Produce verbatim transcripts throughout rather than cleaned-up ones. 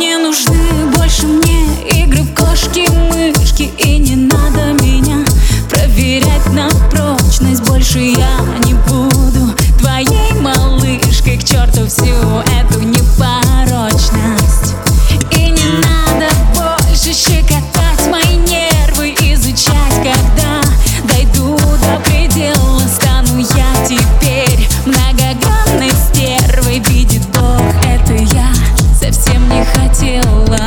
Не нужны больше мне игры в кошки-мышки, и не надо меня проверять на прочность. Больше я не буду твоей малышкой, к черту всю эту непорочность. И не надо больше щекотать мои нервы, изучать, когда дойду до предела. Стану я теперь многогранной стервой, видит Бог, это я совсем не хотела.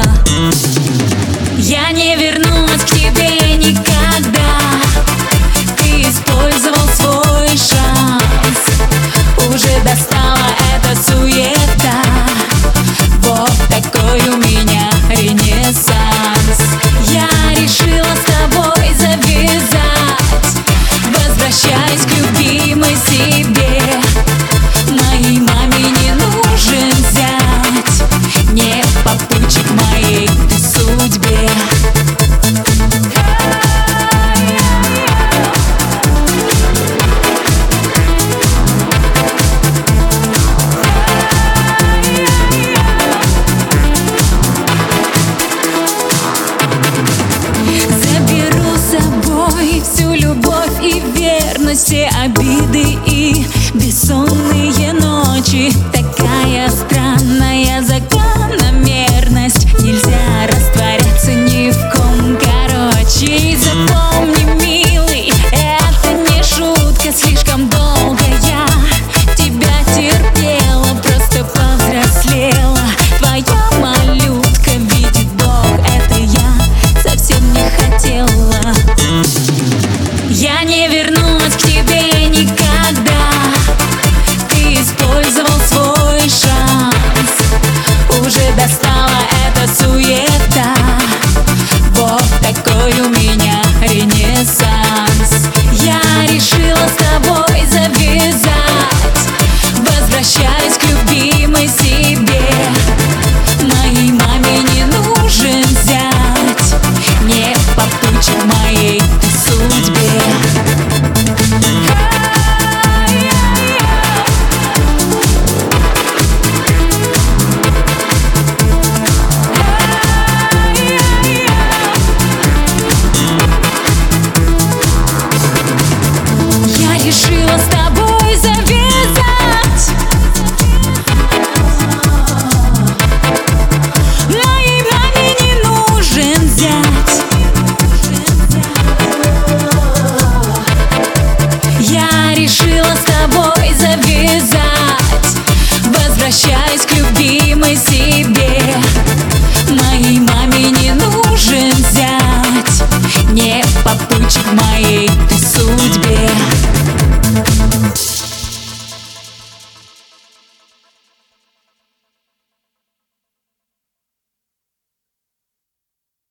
Я не вернусь к тебе никогда. Ты использовал свой шанс, уже достала эта суета. Вот такой у меня ренессанс. Я решила с тобой завязать, возвращаюсь к любимой себе. Моей маме не нужен зять, не попутчик моей ты судьбе. Заберу с собой всю любовь и верность, все обиды и бессонные ночи. Такая странная закономерность, нельзя растворяться ни в ком, короче. И запомни, милый, это не шутка, слишком долго я тебя терпела, просто повзрослела. Твоя малютка, видит Бог, это я совсем не хотела. Я не вернусь к тебе никогда. Ты использовал свой шанс, уже достала эта суета.